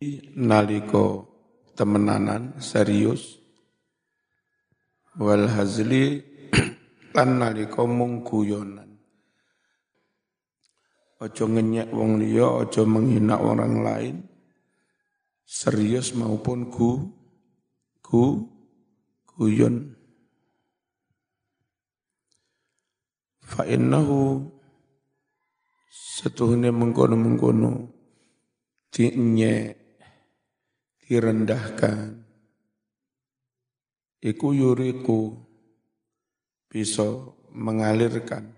Naliko temenanan serius wal hazli lan naliko mung guyonan. Ojo ngenyek wong liya, ojo menghina orang lain, serius maupun guyon. Fa innahu setuhune mengkono-mengkono dinyek direndahkan iku yuriku bisa mengalirkan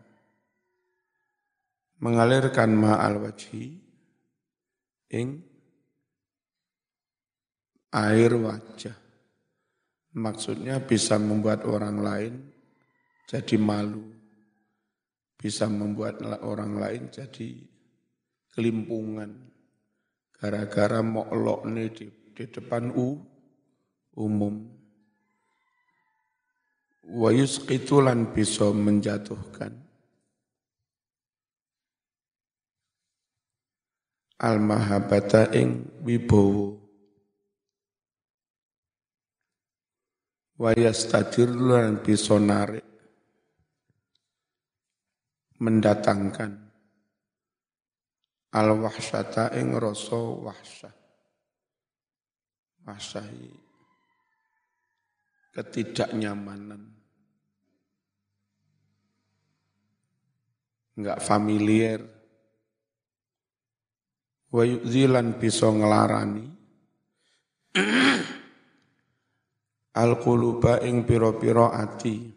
ma'al wajhi ing air wajah. Maksudnya bisa membuat orang lain jadi malu, bisa membuat orang lain jadi kelimpungan gara-gara moklokne di depan umum. Wa yusqitu lan bisa menjatuhkan al-mahabbata ing wibowo. Wa yastadir lan bisa narik mendatangkan al-wahsyata ing rasa wahsyah. Wahsyahi ketidaknyamanan, enggak familiar. Wa yu'dzilan bisa ngelarani al-quluba ing pira-pira ati.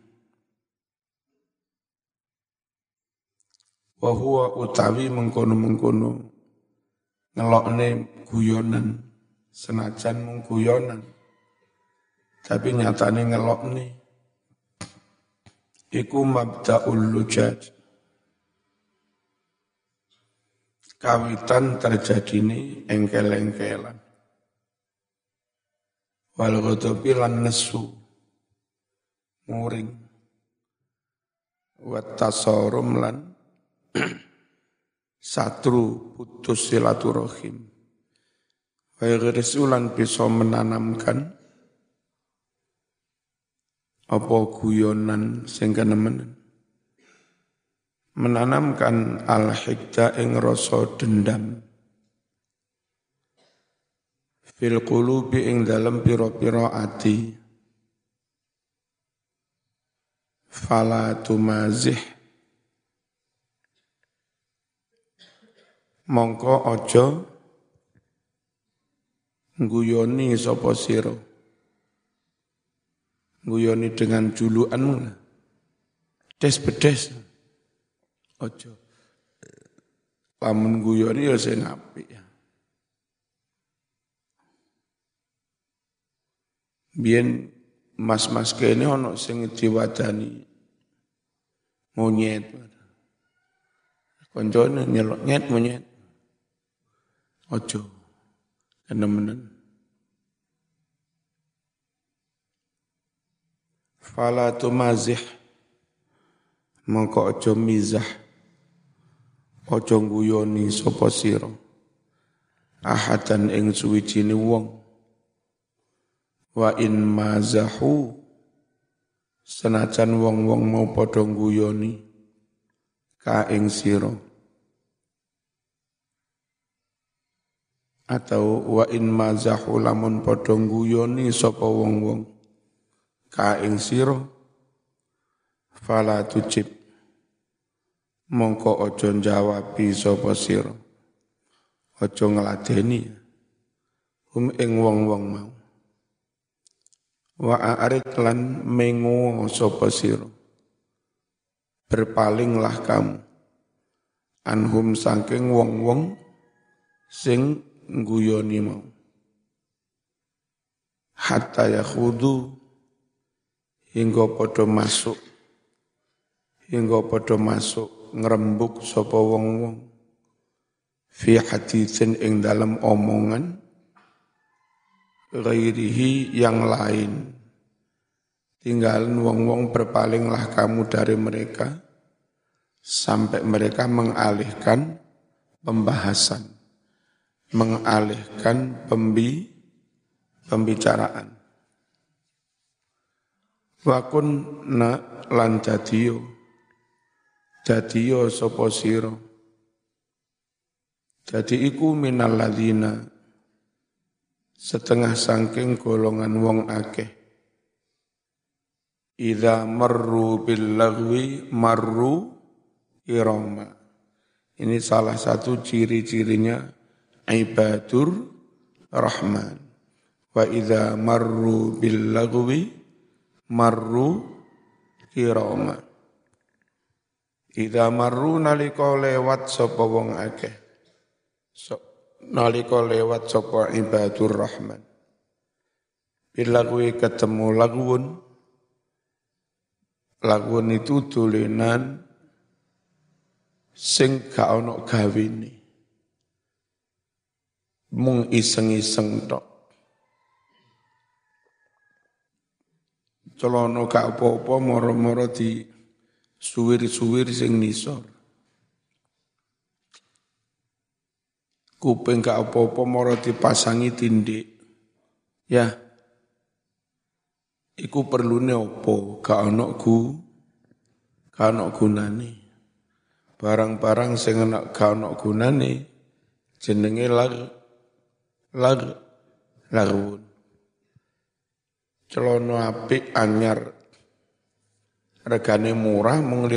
Wa huwa utawi mengkono-mengkono ngelokne guyonan, senajan mung guyonan tapi nyatane ngelokne iku mabda'ul lujaj, kawitan terjadine engkel-engkelan, wal ghadabi lan nesu muring, wa tasarum lan satru putus silaturahim. Wa yaghrisu bisa menanamkan apa guyonan sing kenemen, menanamkan al-hikda ing rasa dendam fil qulubi ing dalem pira-pira ati. Fala tumazih mongko aja guyoni sapa sira, guyoni dengan julukanmu lah, des-bedes aja. Lamun guyoni ya sing apik ya. Biyen mas-mas kene ana sing diwadani monyet. Koncone nyelok nyet monyet. Aja kenemenan. Fala tumazih mongko aja mizah, aja guyoni sapa sira ahadan ing suwijine wong. Wa in mazahu senajan wong-wong mau padha guyoni ka ing sira, atau wa in mazahu lamun padha guyoni sapa wong-wong ka ing sira, fala tujib mongko aja njawabi sapa sira, aja ngladeni ing wong-wong mau. Wa a'rid lan mengo sapa sira, berpalinglah kamu anhum saking wong-wong sing guyoni mau, hatta yakhudu hingga padha masuk ngrembug sapa wong-wong fi haditsin ing dalam omongan ghairihi yang lain. Tinggalin wong-wong, berpalinglah kamu dari mereka sampai mereka mengalihkan pembahasan mengalihkan pembicaraan. Wa kunna lan dadiyo sapa sira. Jadi iku minal ladzina setengah saking golongan wong akeh. Idza marru bil lagwi marru irama. Ini salah satu ciri-cirinya ibadur rahman. Wa idza marru bil lagwi marru kirama. Idza marru nalika lewat sapa wong akeh. Nalika lewat sapa ibadur rahman. Bila kuwi ketemu lagwun itu dolenan sing gak ono gawene. Mung iseng-iseng tok. Celono gak apa-apa moro-moro di suwir-suwir sing nisor. Kuping gak apa-apa moro dipasangi tindik. Ya. Iku perlune apa? Gak ono gunane. Barang-barang sing gak ono gunane jenenge lagwun. Celono apik anyar regane murah mung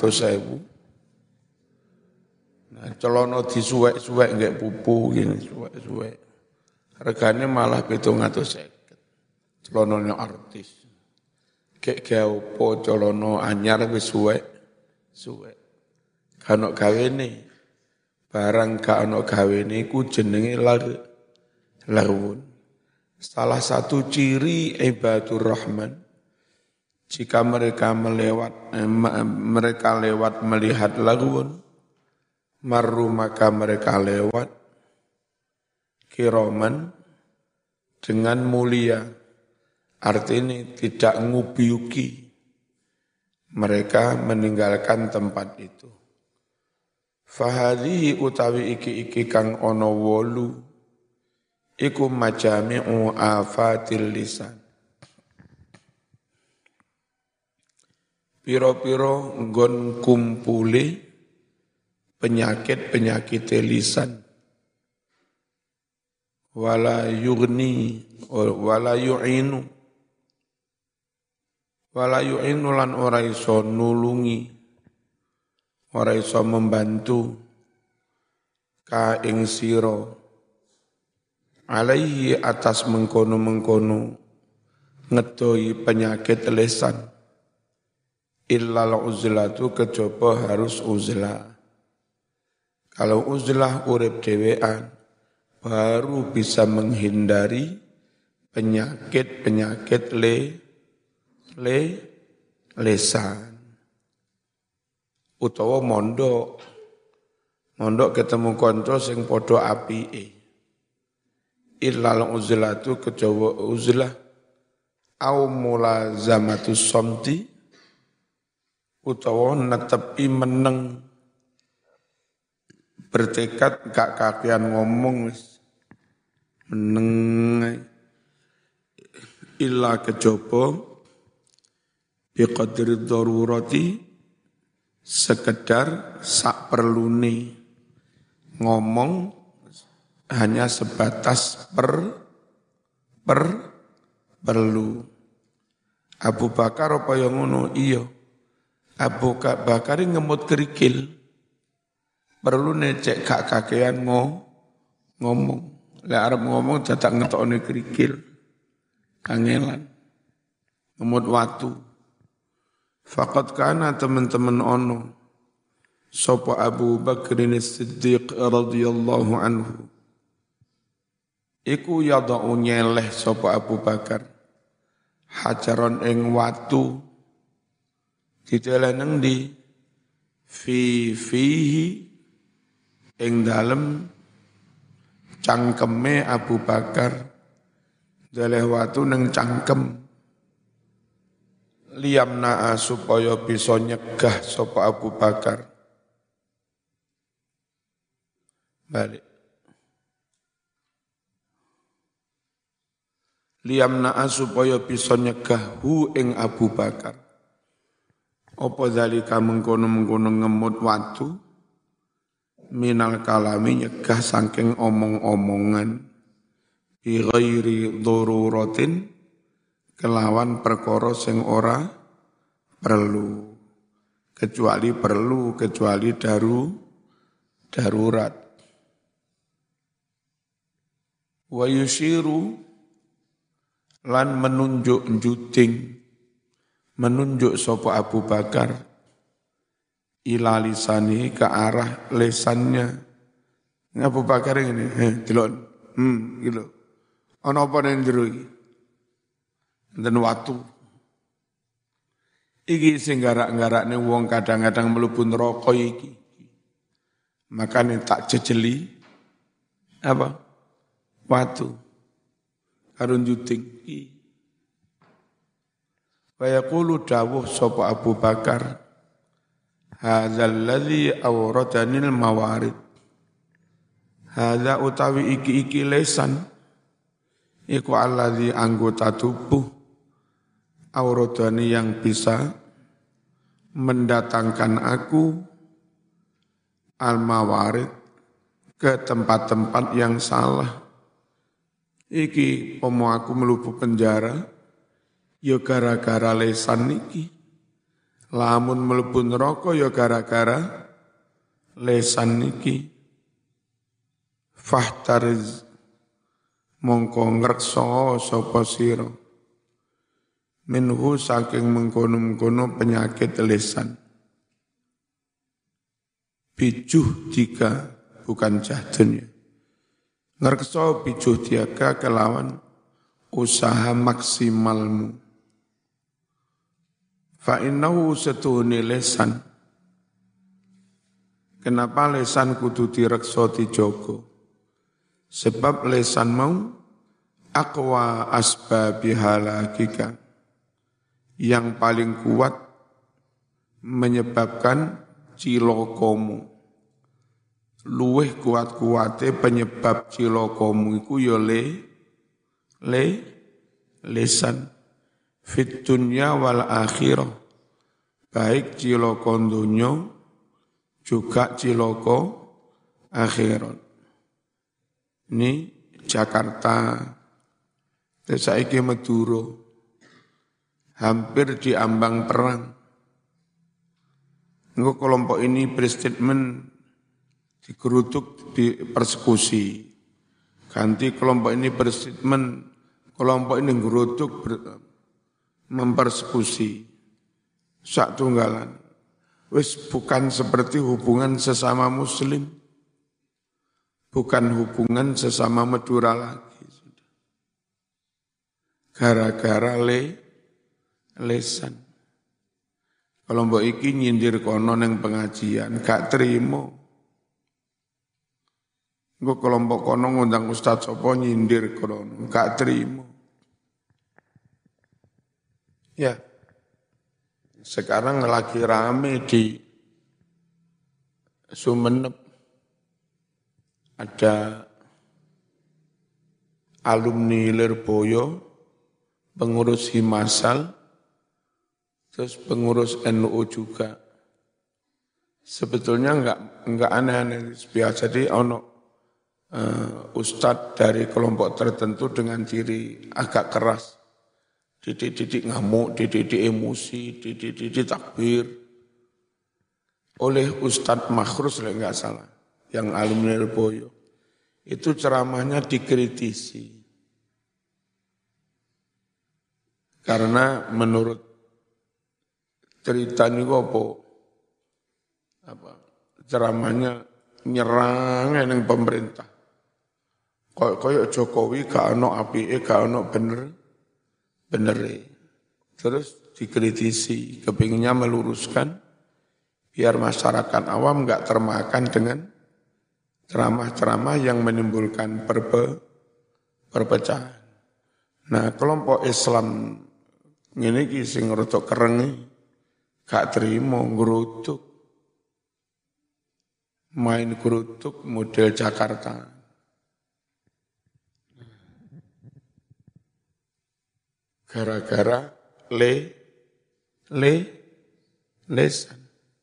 500.000. Nah, celono disuwek-suwek nggih pupu gini suwek-suwek. Regane malah 750. Celonone artis. Kek opo celono anyar wis suwek. Kan gawene. Barang gak ono gawene iku jenenge lagwun. Salah satu ciri ibadur rahman, jika mereka lewat melihat lagwun, marru maka mereka lewat kiroman dengan mulia, artinya tidak ngubiuki, mereka meninggalkan tempat itu. Fahadhihi utawi iki kang ono wolu, iku majami'u afatil lisan. Piro-piro nggon kumpuli penyakit-penyakit lisan. Wala yu'inu lan ora iso nulungi, ora iso membantu ka ing sira alaihi atas mengkono-mengkono ngedoi penyakit lisan illal uzlatu kejaba harus uzlah. Kalau uzlah urip dhewean baru bisa menghindari penyakit-penyakit lisan. Utawa mondok ketemu kanca sing padha apike. Illal uzlatu kejawa uzlah au mulazamatus somti utawa netepi meneng bertekad gak kakean ngomong wis meneng illa kejaba biqadri darurati sekedar sak perlune ngomong hanya sebatas perlu. Abu Bakar apa yang ngono? Iya. Abu Bakar ngemut kerikil. Perlu necek gak kakean ngomong. Lah arep ngomong dadak ngetokne kerikil. Kangelan. Ngemut watu. Faqad kana teman-teman ono. Sapa Abu Bakr As-Siddiq radhiyallahu anhu. Iku yadau nyeleh sapa Abu Bakar hajaron ing watu diteleneng di fihi ing dalem cangkeme Abu Bakar deleh watu neng cangkem liyamna supaya bisa nyegah sapa Abu Bakar balik liyamna'a supaya bisa nyegah hu ing Abu Bakar. Apa zalika mengkono-mengkono ngemut watu minal kalami nyegah saking omong-omongan bi ghairi daruratin kelawan perkara sing ora perlu kecuali darurat. Wa yushiru lan menunjuk sapa Abu Bakar ila lisani ke arah lesannya. Abu Bakar ini, delok. Gitu. Ana apa nang jero iki? Dan watu. Iki sing garak-garakne wong kadang-kadang mlebu neraka iki. Makane tak jejeli apa? Watu. Karo juting iki. Wa yaqulu dawuh sapa Abu Bakar, hadzal ladzi awradanil mawarid. Hadza utawi iki lesan iku alladzi anggota tubuh auradani yang bisa mendatangkan aku al-mawarid ke tempat-tempat yang salah. Iki pomo aku mlebu penjara ya gara-gara lesan niki. Lamun mlebu neraka ya gara-gara lesan niki. Fahtariz mongko ngreksa sapa sira minhu saking mengkono-mengkono penyakit lesan. Bijuh jika bukan jahdun ya. Ngreksa bijuh diaga kelawan usaha maksimalmu. Fa innahu setuhuni lesan. Kenapa lesan kudu direksa dijogo? Sebab lesan mau aqwa asbabi halakika. Yang paling kuat menyebabkan cilokomu. Luweh kuat-kuate penyebab cilokomu iku ya lesan fit dunya wal akhirah, baik ciloko dunya juga ciloko akhirat. Ini Jakarta, saiki Madura, hampir diambang perang. Engko kelompok ini berstatement digerutuk, dipersekusi. Ganti kelompok ini berstatement, kelompok ini gerutuk, mempersekusi. Sak tunggalan. Wis bukan seperti hubungan sesama muslim. Bukan hubungan sesama Madura lagi. Gara-gara lesan. Kelompok iki nyindir kono nang pengajian, gak terima. Engko kelompok kono ngundang ustaz sapa nyindir kono, gak terima. Ya. Sekarang lagi rame di Sumenep. Ada alumni Lirboyo, pengurus Himasal, terus pengurus NU juga. Sebetulnya enggak aneh-aneh, biasa. Jadi ustadz dari kelompok tertentu dengan ciri agak keras. Didik-didik ngamuk, didik-didik emosi, didik-didik takbir. Oleh Ustadz Makhrus, enggak salah, yang alumni Lirboyo. Itu ceramahnya dikritisi. Karena menurut cerita ini ceramahnya nyerang yang pemerintah. Kayak Jokowi gak ono apike, gak ono bener. Terus dikritisi, kepinginnya meluruskan biar masyarakat awam enggak termakan dengan ceramah-ceramah yang menimbulkan perpecahan. Nah, kelompok Islam ini sing rada kereng gak terima ngrutuk. Main gerutuk model Jakarta. gara-gara lesan.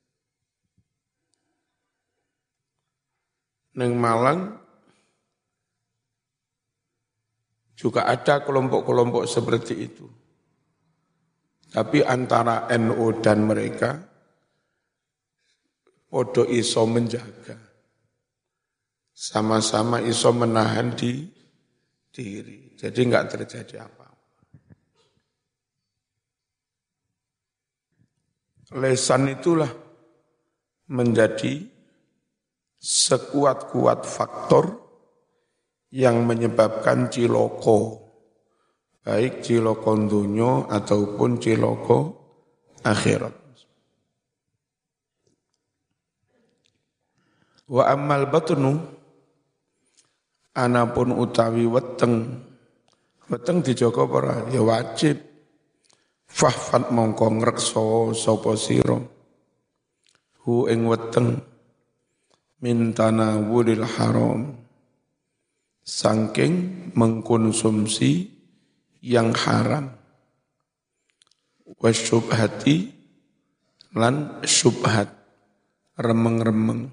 Neng Malang juga ada kelompok-kelompok seperti itu. Tapi antara NU dan mereka podo iso menjaga. Sama-sama iso menahan diri. Jadi enggak terjadi apa-apa. Lesan itulah menjadi sekuat-kuat faktor yang menyebabkan ciloko, baik ciloko dunya ataupun ciloko akhirat. Wa ammal batnu, anapun utawi weteng dijaga para ya wajib. Fahfat mongko ngrekso sapa sira hu ing weteng min tanawulil haram, saking mengkonsumsi yang haram, wasyubhati lan syubhat, remeng-remeng,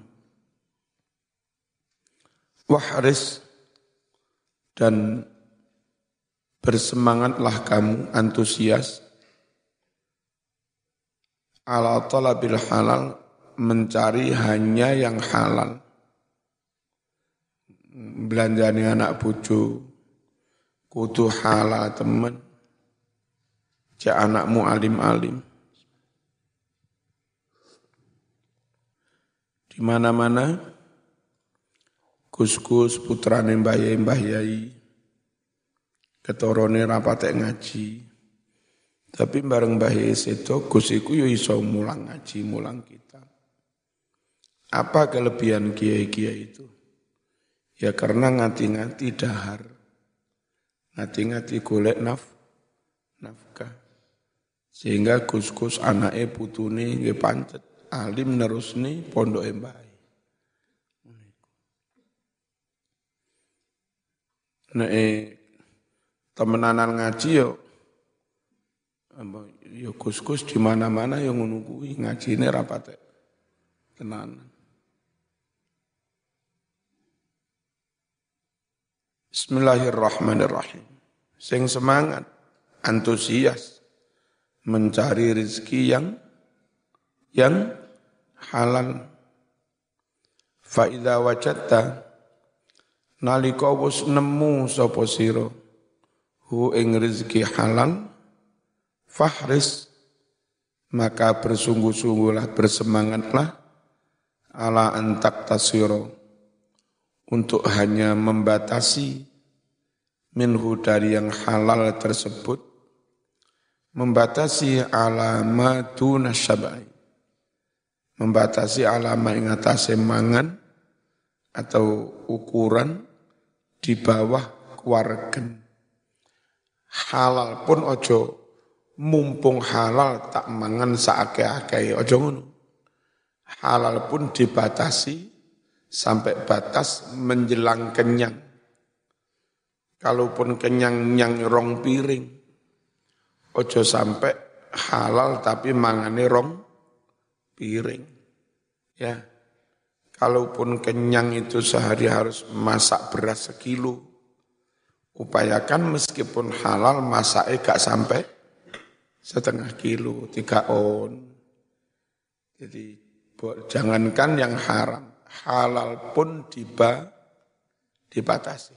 wahris dan bersemangatlah kamu antusias ala talabil halal, mencari hanya yang halal. Belanjani anak bojo kudu halal temen. Cek anakmu alim-alim. Di mana-mana Gus-gus putrane mbah yai ketorone rapate ngaji. Tapi bareng mbah yai sedo Gus iku yo iso mulang ngaji, mulang kitab. Apa kelebihan kiai-kiai itu? Ya karena ngati-ngati dahar. Ngati-ngati golek nafkah. Sehingga Gus-gus anake putune nggih pancet alim nerusne pondoke mbah. Nek temenanan ngaji yo Gus-gus di mana-mana yo ngono kuwi, ngajine ra patek tenanan. Bismillahirrahmanirrahim. Sing semangat, antusias mencari rezeki yang halal. Fa idza wajadta, nalika wis nemu sapa sira hu ing rezeki halal, fahris, maka bersungguh-sungguhlah, bersemangatlah ala antak tasiro, untuk hanya membatasi minhu dari yang halal tersebut, membatasi alamatu nasyabai, membatasi alama ing atase mangan atau ukuran di bawah keluargen. Halal pun ojo, mumpung halal tak mangan saake-ake, ojo ngono. Halal pun dibatasi sampai batas menjelang kenyang. Kalaupun kenyang nyang rong piring, ojo sampai halal tapi mangane rong piring. Ya, kalaupun kenyang itu sehari harus masak beras 1 kilo. Upayakan meskipun halal masaknya gak sampai 0,5 kilo, 3 on. Jadi jangankan yang haram, halal pun dibatasi.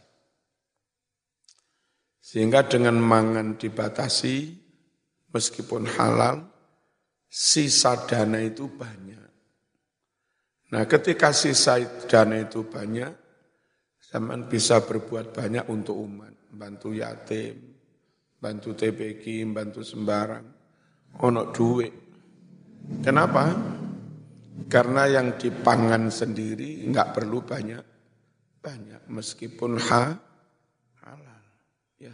Sehingga dengan mangan dibatasi, meskipun halal, sisa dana itu banyak. Nah ketika sisa dana itu banyak, zaman bisa berbuat banyak untuk umat, bantu yatim, bantu TPQ, bantu sembarang, ono duit. Kenapa? Karena yang dipangan sendiri enggak perlu banyak, meskipun halal. Ya.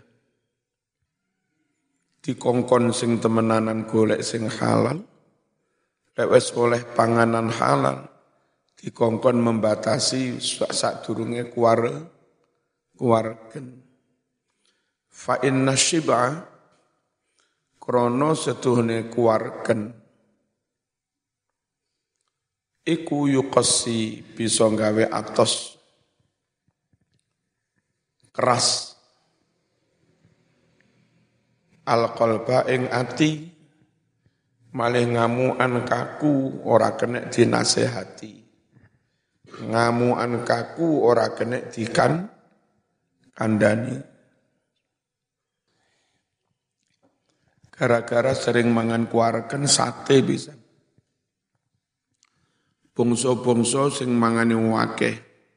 Dikongkon sing temenanan golek sing halal, lek wis oleh panganan halal, dikongkon membatasi sadurunge kuwargen. Fa inna syib'a, krana setuhne kuwarken iku yuqassi bisa gawe atos keras alqalba ing ati malih ngamukan kaku ora kena dinasehati ngamukan kaku ora kena kandhani gara-gara sering mangan kuwarken sate bisa bangsa-bangsa sing mangane akeh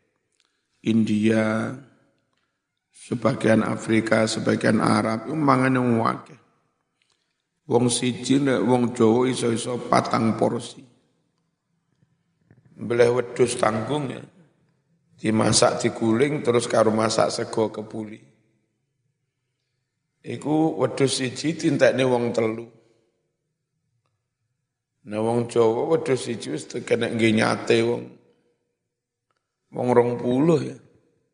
India sebagian Afrika sebagian Arab mangane akeh wong siji nek wong Jawa iso-iso 4 porsi. Belah wedhus tanggung ya. Dimasak diguling terus karo masak sego kebuli. Iku wedhus siji dintekne wong 3. Nah wong Jawa wedhus siji wis kena nggih nyate wong 20 ya.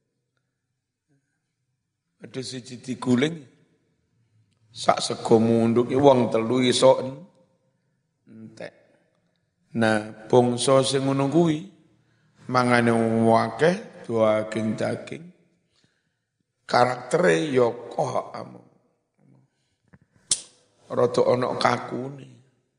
Wedhus siji diguling sak sego munduk wong 3 iso entek. Nah, bangsa sing ngono kuwi mangane akeh daging. Karaktere ya kok rada ana kakune.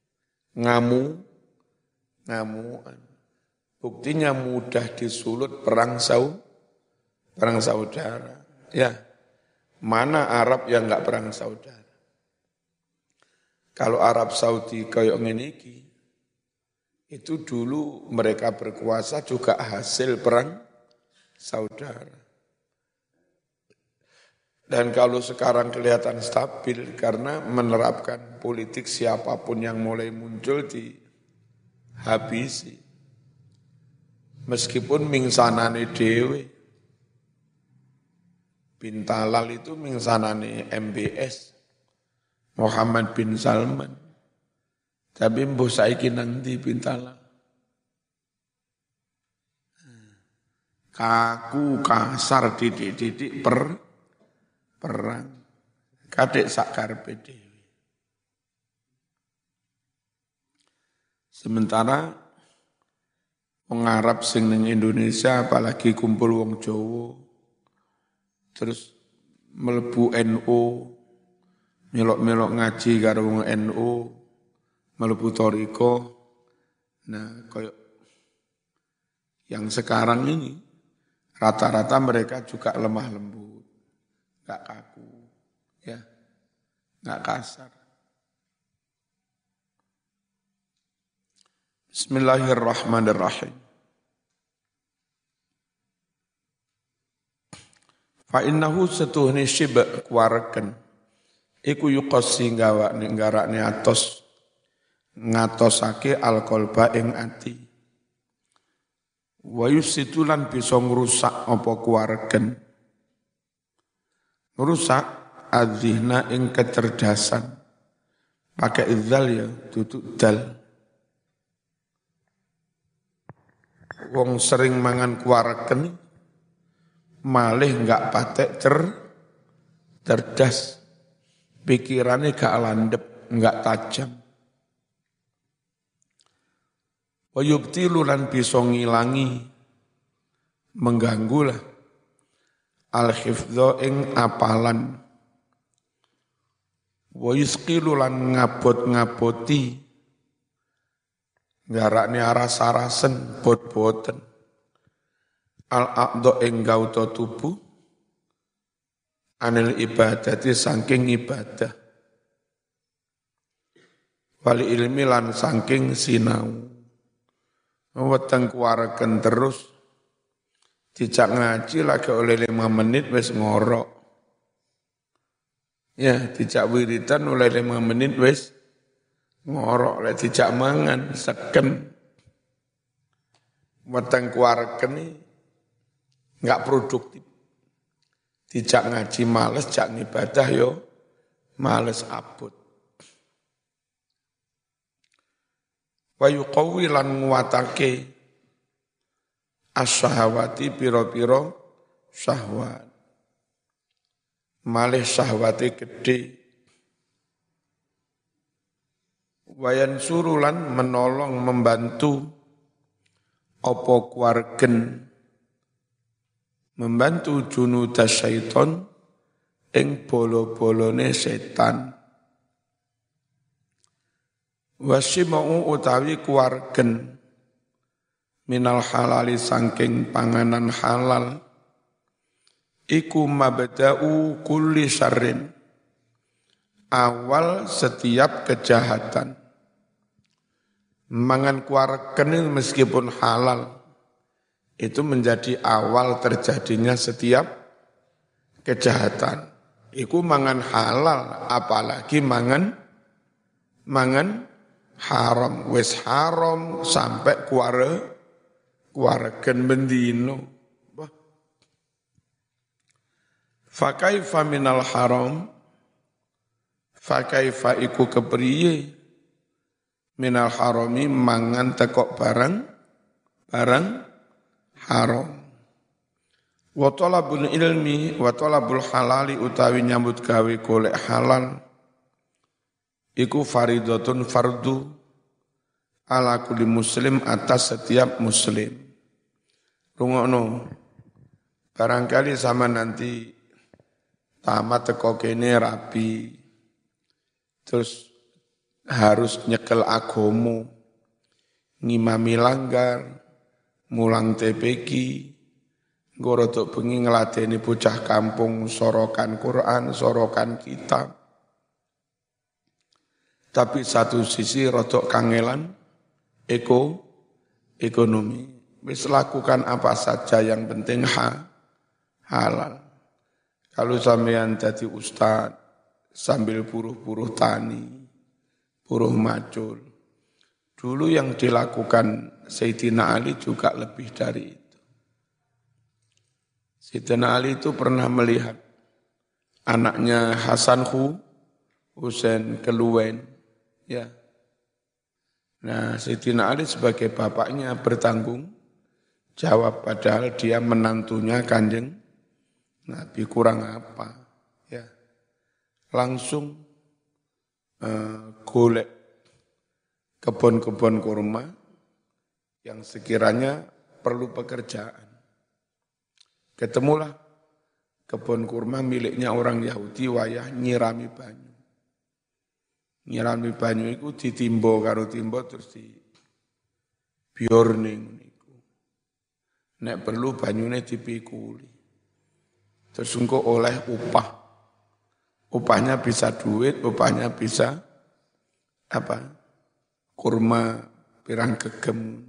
Ngamuan. Buktinya mudah disulut perang saudara. Ya. Mana Arab yang enggak perang saudara? Kalau Arab Saudi kayak ngene iki, itu dulu mereka berkuasa juga hasil perang saudara. Dan kalau sekarang kelihatan stabil karena menerapkan politik siapapun yang mulai muncul dihabisi. Meskipun mingsanane dhewe. Bin Talal itu mingsanane MBS. Muhammad bin Salman. Tapi mbuh saiki nang ndi bin Talal. Kaku kasar didik-didik perang. Kadek sak karepe dhewe. Sementara wong Arab sing ning Indonesia apalagi kumpul wong Jawa terus mlebu NU melok-melok ngaji karo wong NU mlebu thariqah. Nah, kayak yang sekarang ini rata-rata mereka juga lemah lembut, enggak kaku, ya, enggak kasar. Bismillahirrahmanirrahim. Fa innahu setuhni syib' kuwarken iku yuqassi nggarakne atos ngatosake alqalba ing ati wa yusitulan bisa ngrusak apa kuwarken ngrusak adzihna ing kecerdasan pakai idzal ya duduk dal wong sering mangan kuwarken malih enggak patek cerdas, pikirannya gak landep, enggak tajam. Wa yubtilu lan bisa ngilangi, mengganggulah al-hifdha ing apalan. Wa yusqilu lan ngabot-ngaboti, ngarakne aras-arasen, bot-boten. Al-aqdo ing gauta tubuh anil ibadati saking ibadah wali ilmi lan saking sinau weteng kuwarken terus dijak ngaji lagi oleh 5 menit wis ngorok ya dijak wiridan oleh 5 menit wis ngorok lek dijak mangan seken weteng kuwarken iki enggak produktif. Dijak ngaji males, jak ibadah yo males abot. Wa yuqawwi lan nguwatake as-syahawati pira-pira syahwat. Malih syahwate gedhe. Wayan surulan menolong membantu opo kuargen membantu junuda syaiton ing bolo-bolone setan. Wasimau utawi kuargen minal halali sangking panganan halal iku mabda'u kulli syarrin awal setiap kejahatan. Mangan kuargen meskipun halal itu menjadi awal terjadinya setiap kejahatan. Iku mangan halal, apalagi mangan haram. Wis haram sampai kuargen bendino. Fakaifa minal haram, fakaifa iku kepriye minal harami mangan tekok barang haram. Wa talabul ilmi wa talabul halali utawi nyambut gawe golek halal iku faridatun fardu ala kulli muslim atas setiap muslim. Rungokno. Barangkali sama nanti tamat teko kene rapi. Terus harus nyekel agomo, ngimami langgar, mulang TPQ, gorotok bengi ngeladeni bocah kampung, sorokan Quran, sorokan kitab. Tapi satu sisi rotok kangelan, ekonomi. Wis lakukan apa saja yang penting halal. Kalau sampean jadi ustaz, sambil buruh-buruh tani, buruh macul. Dulu yang dilakukan Sayyidina Ali juga lebih dari itu. Sayyidina Ali itu pernah melihat anaknya Hasan Husain keluwen. Ya. Nah, Sayyidina Ali sebagai bapaknya bertanggung jawab, padahal dia menantunya Kanjeng Nabi, kurang apa. Ya. Langsung golek kebun-kebun kurma yang sekiranya perlu pekerjaan. Ketemulah kebun kurma miliknya orang Yahudi wayah nyirami banyu. Nyirami banyu itu ditimbo karo timbo terus di biorning niku. Nek perlu banyune dipikuli. Terus engko oleh upah. Upahnya bisa duit, upahnya bisa kurma pirang gegem.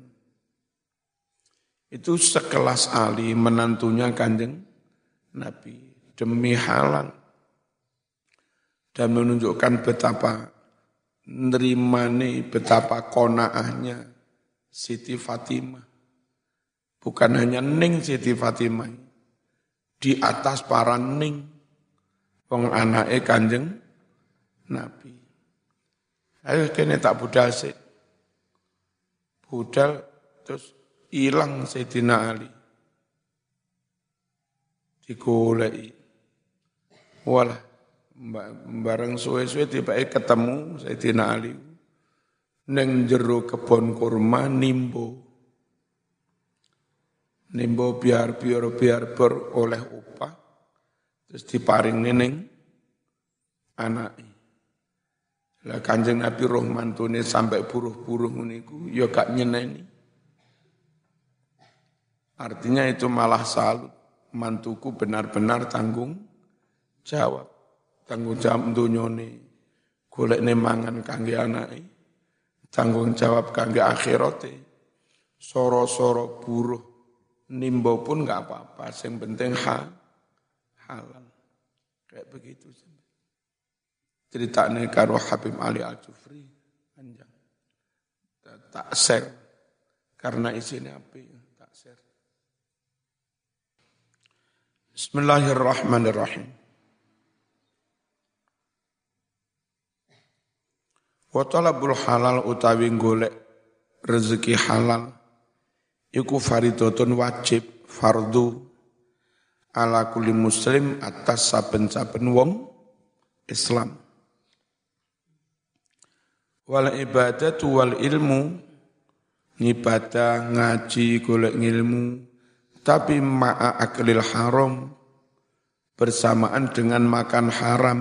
Itu sekelas Ali menantunya Kanjeng Nabi demi halal dan menunjukkan betapa nerimane, betapa konaahnya Siti Fatimah. Bukan hanya ning Siti Fatimah, di atas para ning wong anake Kanjeng Nabi. Ayo kene tak budal sik. Budal terus hilang Sayyidina Ali. Digoleki. Walah, bareng suwe-suwe tibake ketemu Sayyidina Ali. Ning jero kebon kurma nimbo. Nimbo biar oleh upah. Terus diparing neneng anake. Lah Kanjeng Nabi roh mantune sampai buruh-buruh niku ya gak nyeneni. Artinya itu malah salut. Mantuku benar-benar tanggung jawab. Tanggung jawab dunyane. Golekne mangan kangge anake. Tanggung jawab kangge akhirate. Soro-soro buruh nimbo pun gak apa-apa, yang penting halal. Kayak begitu. Ceritanya karo Habib Ali Al-Jufri panjang. Tak share karena isinya apa ya, tak share. Bismillahirrahmanirrahim. Wa talabul halal utawi golek rezeki halal iku faridatun wajib fardu ala kulli muslim atas saben-saben wong Islam. Wal ibadatu wal ilmu, ngibadah, ngaji, golek ilmu, tapi ma'a aklil haram, bersamaan dengan makan haram,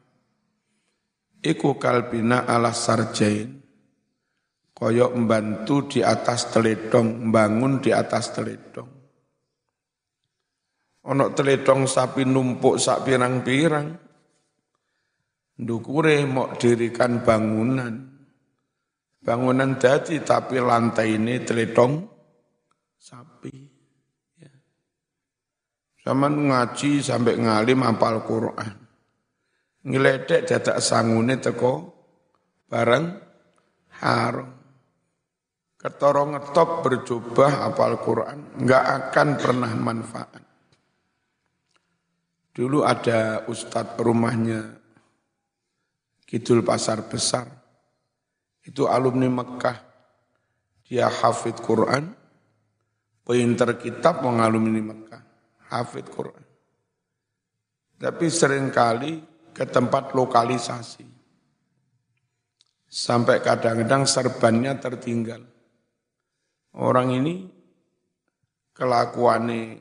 iku kalbina ala sarjain, koyok membantu di atas teledong, bangun di atas teledong. Ono teledong sapi numpuk sak pirang-pirang, ndukure mok dirikan bangunan. Bangunan dadi tapi lantai ini teledong sapi. Ya. Zaman ngaji sampai ngalim hafal Quran. Ngeledek dadak sangune teko bareng haram. Ketoro ngetop berjubah hafal Quran, enggak akan pernah manfaat. Dulu ada ustadz rumahnya Kidul Pasar Besar. Itu alumni Mekah. Dia hafid Quran, pinter kitab mengalumni Mekah, hafid Quran. Tapi seringkali ke tempat lokalisasi. Sampai kadang-kadang serbannya tertinggal. Orang ini kelakuannya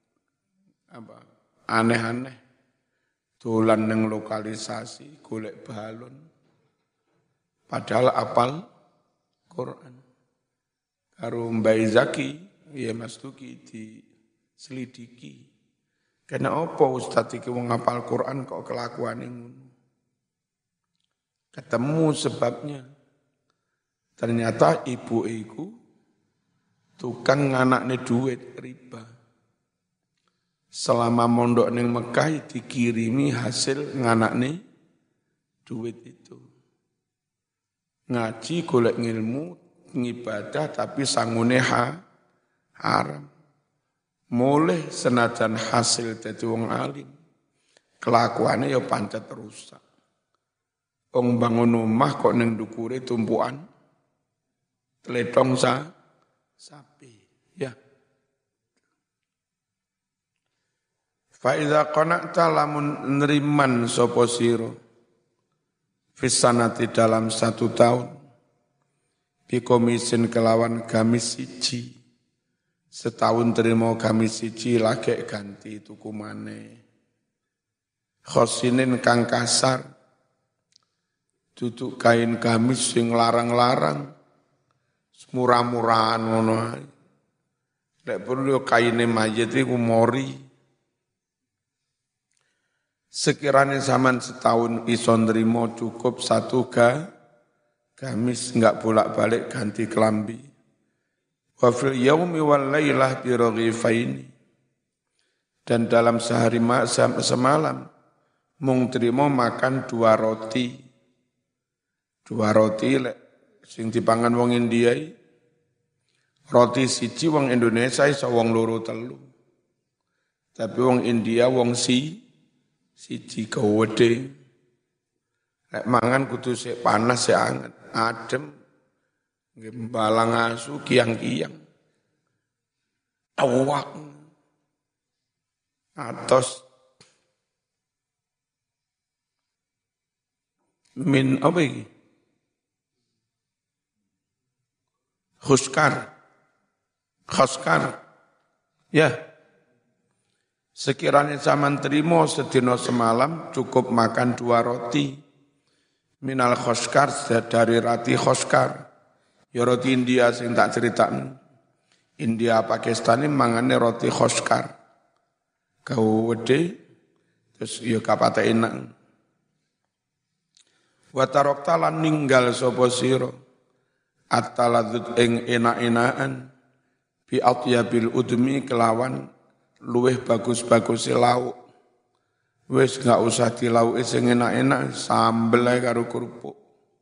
aneh-aneh. Dolan nang lokalisasi, golek balon. Padahal apal Quran. Karo Mbak Zaki, ya Mas Duki diselidiki. Karena apa Ustaz iki wong ngapal Quran kok kelakuane ngono? Ketemu sebabnya. Ternyata ibu iku tukang nganakne duit riba. Selama mondok ning Mekah dikirimi hasil nganakne duit itu. Ngaji golek ngilmu, ngibadah tapi sangune haram. Mulih senajan hasil dadi wong alim. Kelakuane ya pancet rusak. Wong bangun omah kok ning ndukure tumpukan tledong sapi. Ya. Fa iza qana'ta lamun neriman sapa sira fisanati dalam 1 tahun bikomisin kelawan gamis siji setahun terima gamis siji lagi ganti tuku maneh khosinin kang kasar duduk kain gamis sing larang-larang murah-murahan ngono ae nek perlu kaine mayit iku mori. Sekiranya zaman setahun iso nrimo cukup 1 gamis enggak bolak-balik ganti kelambi. Wa fil yaumi wal lailah bi raghifaini. Dan dalam sehari semalam mung trimo makan 2 roti. 2 roti sing dipangan wong India. Roti siji wong Indonesia iso wong loro telu. Tapi wong India wong siji gawede. Nek mangan kudu sik panas sik anget, adem. Nggih balang asu kiang-kiang. Awak. Atos min apa iki? Khuskar. Ya. Sekiranya zaman terima sedina semalam cukup makan 2 roti. Minal khoskar dari roti khoskar. Ya roti India sing tak ceritakan. India Pakistan ini mangane roti khoskar. Kau wede terus ya kapate enak. Wa tarokta lan ninggal sapa sira at-taladzud ing enak-enakan bi atyabil udmi kelawan luweh bagus-bagus lauk. Wis gak usah dilauki sing enak-enak, sambel ae karo kerupuk.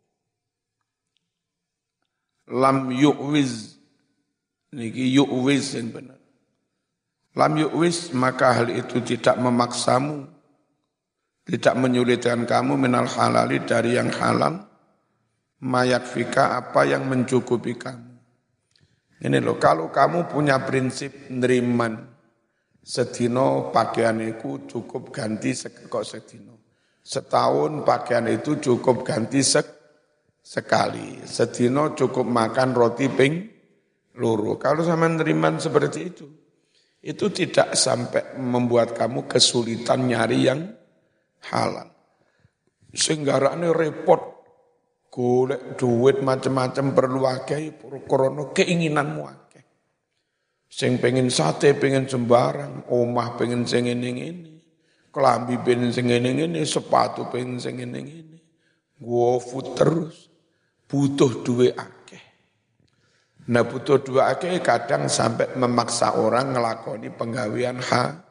Lam yu'wiz. Niki yu'wiz yang benar. Lam yu'wiz maka hal itu tidak memaksamu, tidak menyulitkan kamu minal halali dari yang halal, mayakfika apa yang mencukupi kamu. Ini loh, kalau kamu punya prinsip neriman, sedino pakaian itu cukup ganti kok sedino. Setahun pakaian itu cukup ganti sekali. Sedina cukup makan roti ping loro. Kalau sampean neriman seperti itu tidak sampai membuat kamu kesulitan nyari yang halal. Senggarane repot, golek duit macam-macam perlu akeh, krana keinginanmu akeh. Sing pengen sate, pengen sembarang, omah pengen sing ngene-ngene, kelambi pengen sing ngene-ngene, sepatu pengen sing ngene-ngene. GoFood terus, butuh duit akeh. Nah butuh duit akeh kadang sampai memaksa orang ngelakoni penggawean haram.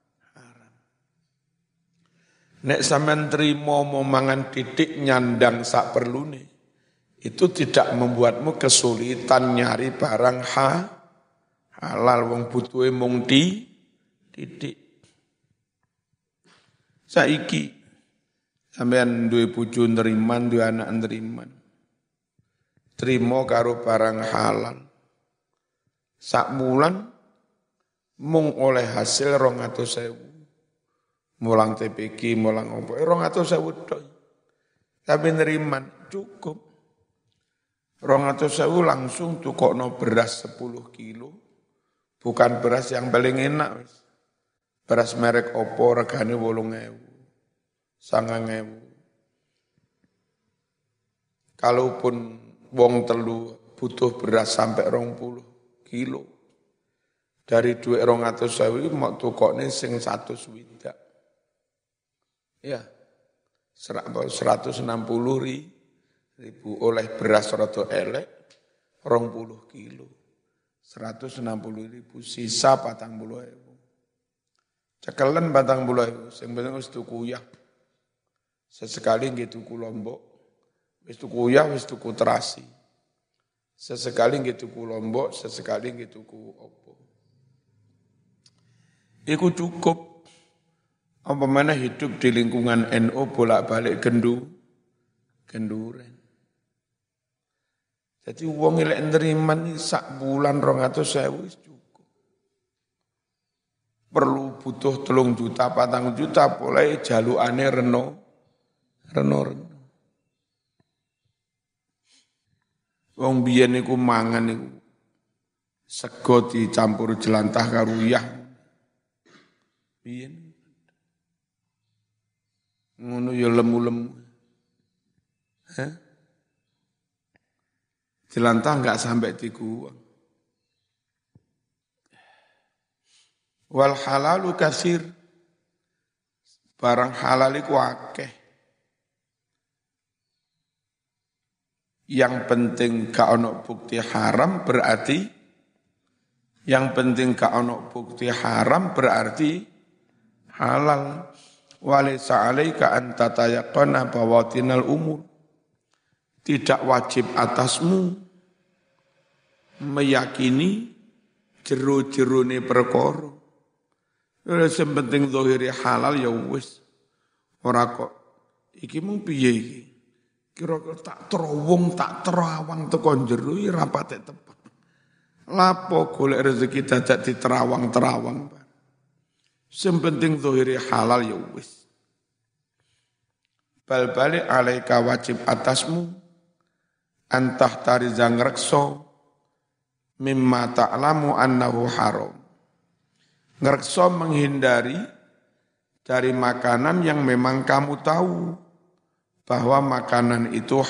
Nek sampean trimo mau mangan titik nyandang sak perlune, itu tidak membuatmu kesulitan nyari barang halal wong butuhe mung titik. Saiki sampean duwe bojo neriman, duwe anak neriman. Trimo karo barang halal. Sak wulan mung oleh hasil 200.000. Mulang TPQ, mulang opo, 200.000 tok. Tapi neriman cukup. 200.000 langsung tukokno beras 10 kilo. Bukan beras yang paling enak. Beras merek opo regane 8.000, 9.000. Kalaupun wong telu butuh beras sampai 20 kilo. Dari duit 200.000 mau tukokne sing 100 widak. Ya, 160.000 oleh beras rada elek, 20 kilo. 160.000 sisa 40.000. Cekelen 40.000, sing penting wis tuku uyah. Sesekali nggih tuku lombok, wis tuku uyah, wis tuku terasi. Sesekali nggih tuku lombok, sesekali nggih tuku opo. Iku cukup. Apa mana hidup di lingkungan NU bolak-balik genduren. Jadi wong elek neriman sak bulan 200.000 cukup. Perlu butuh 3 juta, 4 juta, mulai jalukane reno. Wong biyen niku mangan niku sego dicampur jelantah karo uyah. Biyen ngono ya lemu-lemu. Jelantah enggak sampai dikuang. Wal halalu katsir. Barang halal iku akeh. Yang penting gak ono bukti haram berarti halal. Walaysa 'alaika an tatayaqqana bawatinal umur. Tidak wajib atasmu meyakini jero-jerone perkara. Sing penting zahire halal ya wis. Ora kok iki mung piye iki? Kira-kira tak terowong, tak terawang teko jero iki ra patek tepat. Lapo golek rezeki dadak diterawang-terawang. Sing penting zahire halal ya wis. Bal balik alaika wajib atasmu antah tariza ngrekso mimma ta'lamu annahu haram. Ngrekso menghindari dari makanan yang memang kamu tahu bahwa makanan itu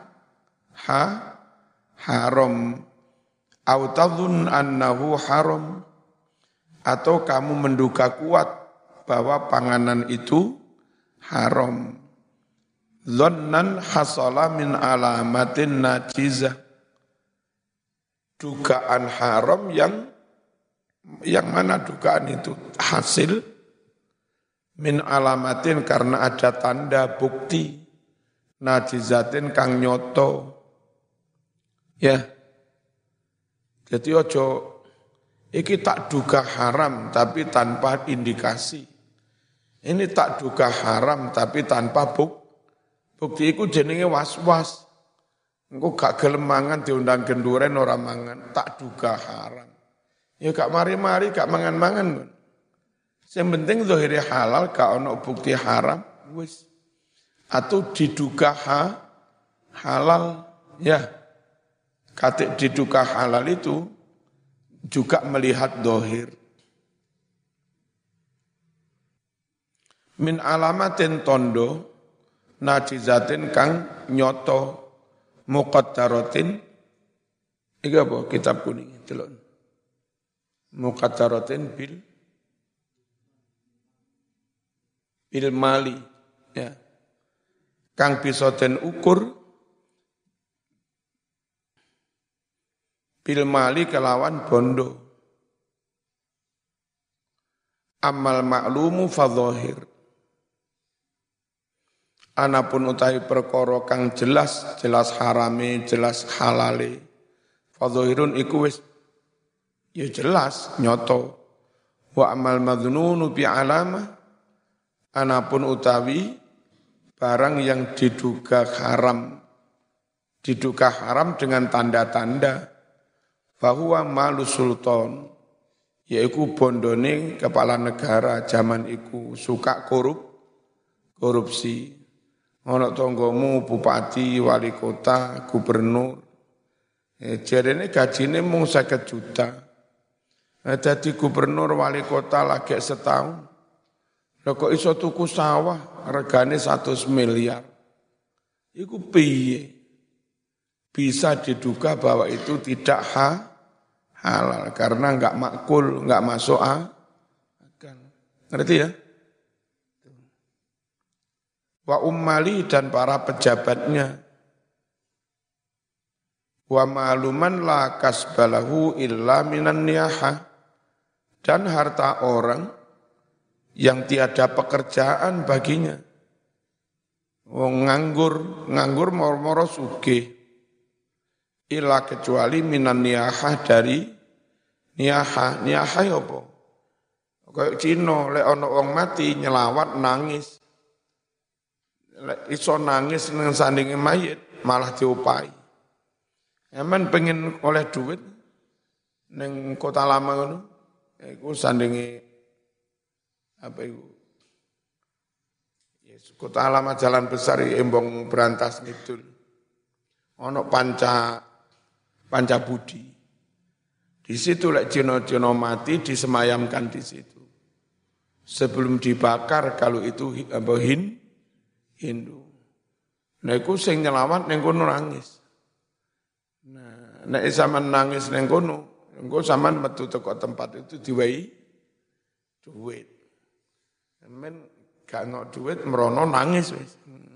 haram. Au tadhun annahu haram. Atau kamu menduga kuat bahwa panganan itu haram. Dhannan hasala min alamatin najizah. Dugaan haram yang mana dugaan itu hasil min alamatin karena ada tanda bukti najizatin kang nyoto. Ya. Jadi ojo iki tak duga haram tapi tanpa indikasi. Ini tak duga haram tapi tanpa bukti iku jenenge was-was. Engko gak gelem mangan diundang genduren ora mangan, tak duga haram. Ya gak mari-mari gak mangan-mangan. Yang penting zahire halal gak ono bukti haram wis. Atau diduga halal, ya. Katik diduga halal itu juga melihat dohir. Min alamatin tondo, najizatin kang nyoto, muqaddaratin, iki apa kitab kuning, delok. Muqaddaratin bil mali, ya. Kang bisa den ukur bil mali kelawan bondo. Amal maklumu fadhahir. Anapun utawi perkara kang jelas harame, jelas halale. Fadhahirun iku wis ya jelas nyoto. Wa amal madhnunu bi alamah. Anapun utawi barang yang diduga haram dengan tanda-tanda, fahuwa malu sultan, yaiku bondone kepala negara zaman iku suka korupsi. Ono tonggomu bupati, wali kota, gubernur, jarene gajine mung 50 juta. Dadi gubernur wali kota lagi setahun. Lah kok iso tuku sawah regane 100 miliar. Iku piye? Bisa diduga bahwa itu tidak halal karena enggak makul, enggak masuk akal. Ngerti ya? Wa ummali dan para pejabatnya. Wa ma'luman la kasbalahu illa minan niyaha. Dan harta orang yang tiada pekerjaan baginya. Wong nganggur moro-moro sugih. Illa kecuali minan niyaha dari niyaha. Niyaha ya apa? Kayak Cina, lek ana wong mati nyelawat nangis. Lek iso nangis nang sandinge mayit malah diopahi. Eman pengen oleh duit ning Kota Lama ngono. Iku sandinge apa itu? Yes, Kota Lama Jalan Besar Embong Berantas Ngidul. Ono panca budi. Di situ lek Cina mati disemayamkan di situ. Sebelum dibakar kalau itu apa Hindu. Nah iku sing nyelawat ning kono nangis. Nah nek sampean nangis ning kono, engko sampean metu teko tempat itu diwehi duit. Men gak ngok duit merono nangis wis.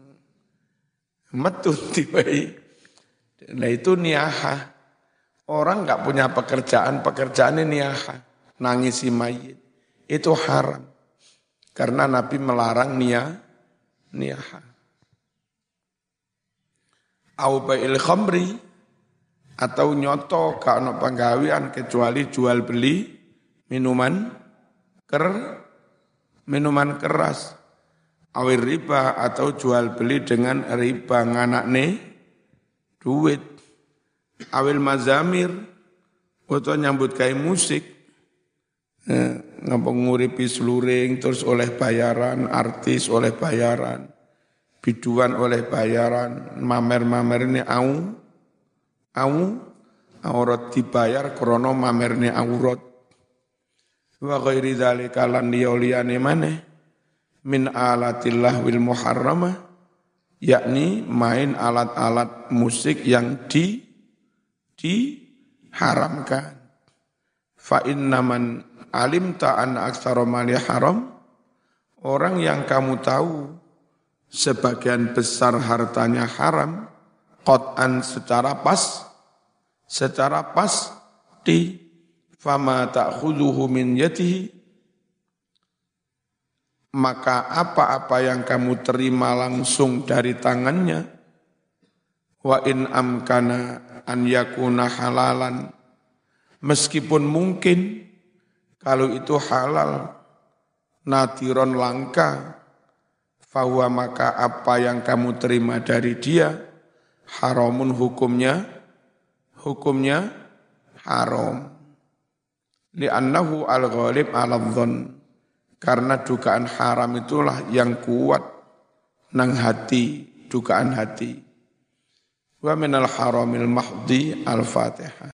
Metu diwehi. Nah itu niyaha. Orang gak punya pekerjaan ini niyaha. Nangisi mayit. Itu haram. Karena Nabi melarang niyaha. Au bai'il khamri atau nyoto gak ono penggawean kecuali jual beli minuman keras. Awir riba atau jual beli dengan riba nganakne duit. Awil mazamir atau nyambut gawe musik. Ngapa nguripi seluring terus oleh bayaran, artis oleh bayaran, biduan oleh bayaran, mamer-mamer ini aurat dibayar krono mamer ini aurat. Wa ghairi dzalika lan liyane maneh min alatillah wil muharramah, yakni main alat-alat musik yang diharamkan. Fa innaman alimta anna aktsara mali haram, orang yang kamu tahu sebagian besar hartanya haram, qat'an secara pasti, fama ta'khudhuhu min yadihi, maka apa-apa yang kamu terima langsung dari tangannya, wa in amkana an yakuna halalan, meskipun mungkin kalau itu halal, nadiron langka, fahuwa maka apa yang kamu terima dari dia, haramun hukumnya haram. Li'annahu al-ghalib ala-dhon, karena dugaan haram itulah yang kuat nang hati, dugaan hati. Wa minal haramil mahdi al-Fatihah.